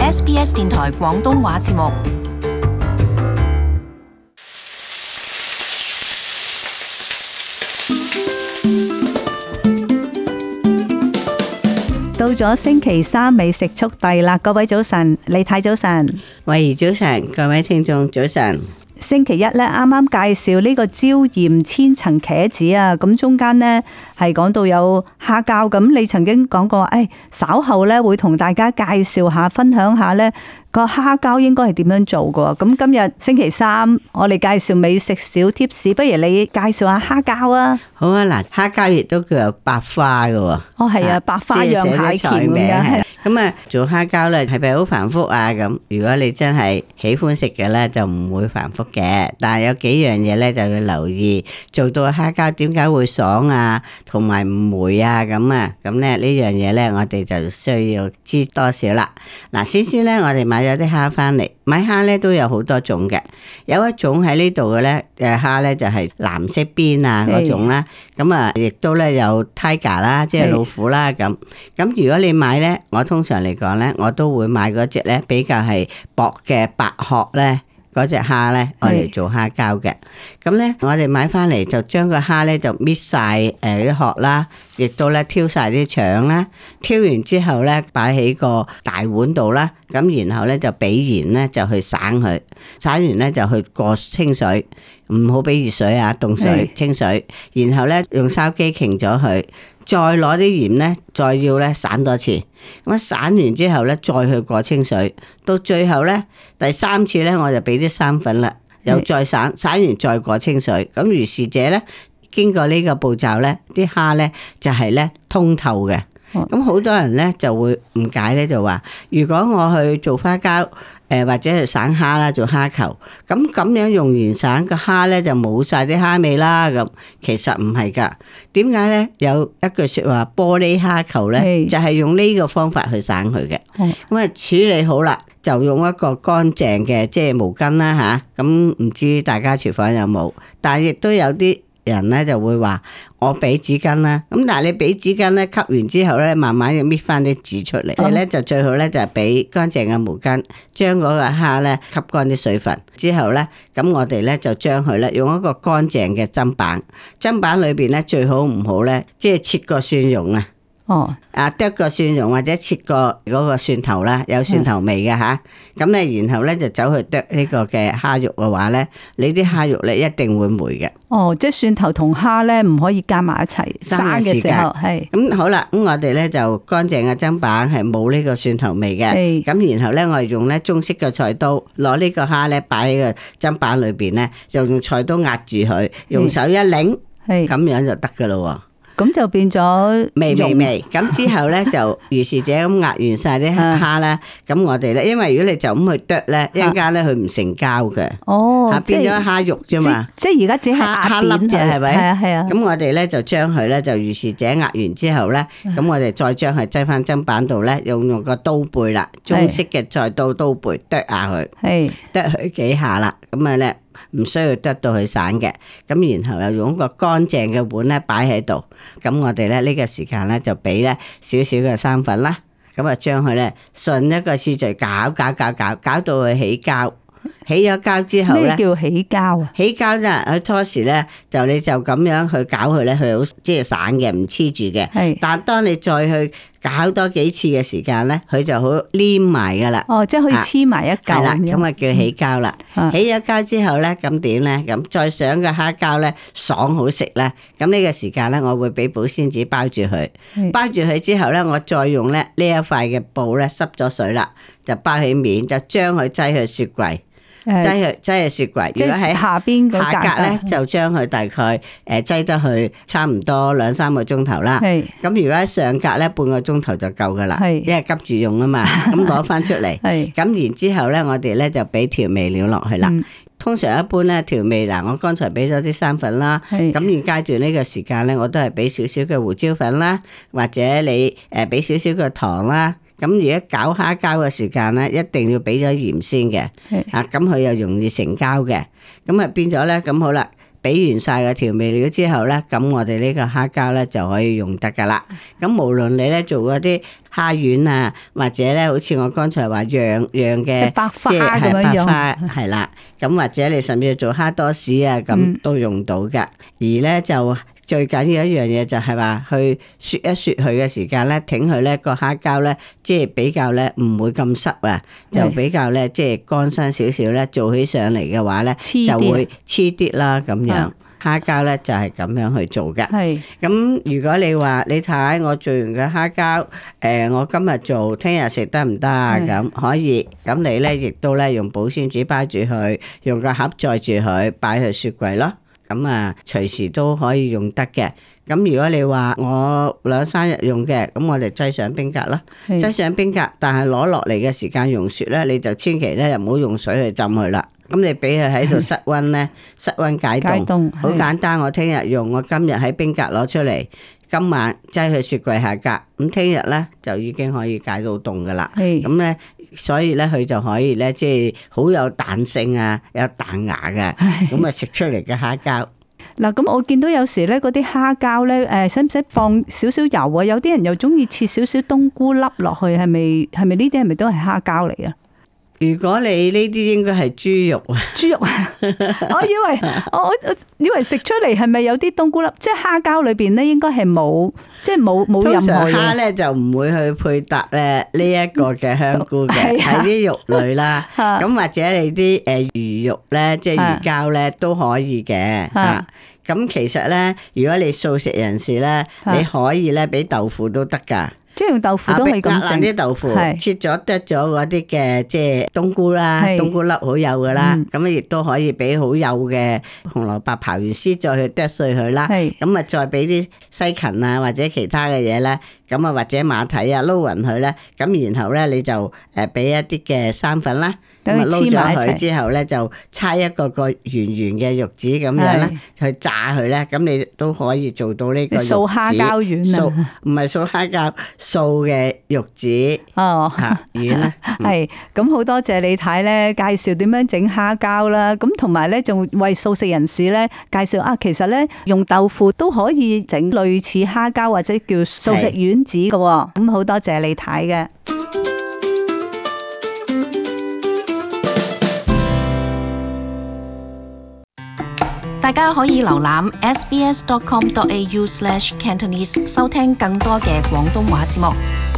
SBS 電台廣東話節目。 到咗星期三美食速遞啦，各位早晨，李太早晨， 慧怡早晨，各位聽眾早晨。 星期一咧，啱啱介紹呢個椒鹽千層茄子啊，咁中間呢係講到有蝦膠，咁你曾經講過，稍後咧會同大家介紹下、分享下呢個蝦膠應該係點樣做㗎。咁今日星期三，我哋介紹美食小貼士，不如你介紹下蝦膠啊？ 好啊，嗱，蝦膠亦都叫做白花㗎喎。 哦，係啊，白花釀蟹鉗咁樣。 咁啊，做蝦膠咧係咪好繁複啊？咁如果你真係喜歡食嘅咧，就唔會繁複嘅。但係有幾樣嘢咧就要留意，做到蝦膠點解會爽啊，同埋唔霉啊咁啊。咁咧呢樣嘢咧，我哋就需要知多少啦。嗱，先咧，我哋買咗啲蝦翻嚟，買蝦咧都有好多種嘅。有一種喺呢度嘅咧，蝦咧就係藍色邊啊嗰種啦。咁啊，亦都咧有 tiger 啦，即係老虎啦咁。咁如果你買咧，我通常嚟講咧，我都會買嗰隻咧比較係薄嘅白殼咧，嗰隻蝦咧，我嚟做蝦膠嘅。咁咧，我哋買翻嚟就將個蝦咧就搣晒啲殼啦，亦都咧挑晒啲腸啦。挑完之後咧，擺喺個大碗度啦。咁然後咧就俾鹽咧就去省佢，省完咧就去過清水，唔好俾熱水啊，凍水清水。然後咧用筲箕擎咗佢。再攞啲鹽咧，再要咧散多次，咁散完之後咧，再去過清水，到最後咧第三次咧，我就俾啲生粉啦，又再散完再過清水，咁如是者咧，經過呢個步驟咧，啲蝦咧就係咧通透嘅。咁好多人咧就會誤解咧，就話如果我去做花膠，或者係省蝦啦，做蝦球，咁樣用完省個蝦咧就冇晒啲蝦味啦。咁其實唔係噶，點解咧？有一句說話，玻璃蝦球咧就係用呢個方法去省佢嘅。咁啊處理好啦，就用一個乾淨嘅即係毛巾啦吓。咁唔知大家廚房有冇？但係亦都有啲人咧就會話我俾紙巾啦，咁但係你俾紙巾咧吸完之後咧，慢慢要搣翻啲紙出嚟。你咧就最好咧就係俾乾淨嘅毛巾，將嗰個蝦咧吸乾啲水分之後咧，咁我哋咧就將佢咧用一個乾淨嘅砧板，砧板裏邊咧最好唔好咧，即係切個蒜蓉啊。剁個蒜蓉或者切個嗰個蒜頭啦，有蒜頭味嘅吓，咁咧然後咧就走去剁呢個嘅蝦肉嘅話咧，你啲蝦肉咧一定會霉嘅。 即係蒜頭同蝦咧唔可以加埋一齊生嘅時候，係。咁好啦，咁我哋咧就乾淨嘅砧板係冇呢個蒜頭味嘅，咁然後咧我哋用咧中式嘅菜刀攞呢個蝦咧擺喺個砧板裏邊咧，就用菜刀壓住佢，用手一擰，咁樣就得噶咯。 咁就變咗味，咁之後咧就如是者咁壓完晒啲蝦啦。咁我哋咧，因為如果你就咁去剁咧，一陣間咧佢唔成膠嘅，變咗蝦肉啫嘛。 即係而家只係蝦粒啫，係咪？ 係啊。 咁我哋咧就將佢咧就如是者壓完之後咧，咁我哋再將佢擠翻砧板度咧，用個刀背啦，中式嘅菜刀刀背剁下佢，剁佢幾下啦，咁啊咧。唔需要剁到佢散嘅，咁然後又用一個乾淨嘅碗咧擺喺度，咁我哋咧呢個時間咧就俾咧少少嘅生粉啦，咁啊將佢咧順一個次序攪到佢起膠。起咗膠之後咧， 咩叫起膠啊？ 起膠咧，佢初時咧就你就咁樣去攪佢咧，佢好即係散嘅，唔黐住嘅。係，但係當你再去攪多幾次嘅時間咧，佢就好黏埋噶啦。 即係可以黐埋一嚿。係啦， 咁啊叫起膠啦。起咗膠之後咧，咁點咧？咁再上個蝦膠咧，爽好食咧。咁呢個時間咧，我會俾保鮮紙包住佢。包住佢之後咧，我再用咧呢一塊嘅布咧濕咗水啦，就包起面，就將佢擠去雪櫃。擠去雪櫃，如果喺下邊下格咧，就將佢大概擠得去差唔多2-3個鐘頭啦。咁如果喺上格咧，半個鐘頭就夠噶啦，因為急住用啊嘛。咁攞翻出嚟，咁然之後咧，我哋咧就俾調味料落去啦。通常一般咧調味嗱，我剛才俾咗啲生粉啦，咁現階段呢個時間咧，我都係俾少少嘅胡椒粉啦，或者你俾少少嘅糖啦。咁如果攪蝦膠嘅時間咧，一定要俾咗鹽先嘅，咁佢又容易成膠嘅，咁啊變咗咧，咁好啦，俾完晒個調味料之後咧，咁我哋呢個蝦膠咧就可以用得噶啦。咁無論你咧做嗰啲蝦丸啊，或者咧好似我剛才話釀嘅， 即係百花即係咁樣用百花係啦。咁或者你甚至做蝦多士啊，咁都用到噶。而咧就最緊要一樣嘢就係話去雪一雪佢嘅時間咧，挺佢咧個蝦膠咧，即係比較咧唔會咁濕啊，就比較咧即係乾身少少咧，做起上嚟嘅話咧就會黐啲啦咁樣。蝦膠咧就係咁樣去做嘅。 係咁如果你話你睇我做完嘅蝦膠，我今日做，聽日食得唔得啊？咁可以。咁你咧亦都咧用保鮮紙包住佢，用個盒載住佢，擺去雪櫃咯。咁啊，隨時都可以用得嘅。咁如果你話我2-3日用嘅，咁我哋擠上冰格咯，擠上冰格，但係攞落嚟嘅時間溶雪咧，你就千祈咧又唔好用水去浸佢啦。咁你俾佢喺度室溫咧，室溫解凍，好簡單。我聽日用，我今日喺冰格攞出嚟，今晚擠去雪櫃下格，咁聽日咧就已經可以解到凍噶啦。咁咧，所以咧佢就可以咧，即係好有彈性啊，有彈牙嘅，咁啊食出嚟嘅蝦膠。 嗱，咁我見到有時咧嗰啲蝦膠咧，使唔使放少少油啊？有啲人又中意切少少冬菇粒落去，係咪呢啲係咪都係蝦膠嚟啊？ 如果你呢啲應該係豬肉啊，豬肉啊， 我以為食出嚟係咪有啲冬菇粒？即係蝦膠裏邊咧，應該係冇，即係冇任何嘢。 通常蝦咧就唔會去配搭咧呢一個嘅香菇嘅，係啲肉類啦。咁或者你啲魚肉咧，即係魚膠咧都可以嘅嚇。咁其實咧，如果你素食人士咧，你可以咧俾豆腐都得㗎。 即係用豆腐都係咁整， 啲豆腐切咗剁咗嗰啲嘅即係冬菇啦，冬菇粒好幼噶啦，咁亦都可以俾好幼嘅紅蘿蔔刨完絲再去剁碎佢啦，咁啊再俾啲西芹啊或者其他嘅嘢咧，咁啊或者馬蹄啊撈勻佢咧，咁然後咧你就俾一啲嘅生粉啦。咁啊撈咗佢之後咧，就搓一個圓圓嘅肉子咁樣咧，去炸佢咧，咁你都可以做到呢個肉子。素蝦膠丸啊，唔係素蝦膠，素嘅肉子丸啦。 係，咁好多謝李太咧介紹點樣整蝦膠啦，咁同埋咧仲為素食人士咧介紹啊，其實咧用豆腐都可以整類似蝦膠或者叫素食丸子嘅，咁好多謝李太嘅。 大家可以瀏覽 sbs.com.au/cantonese 收聽更多嘅廣東話節目。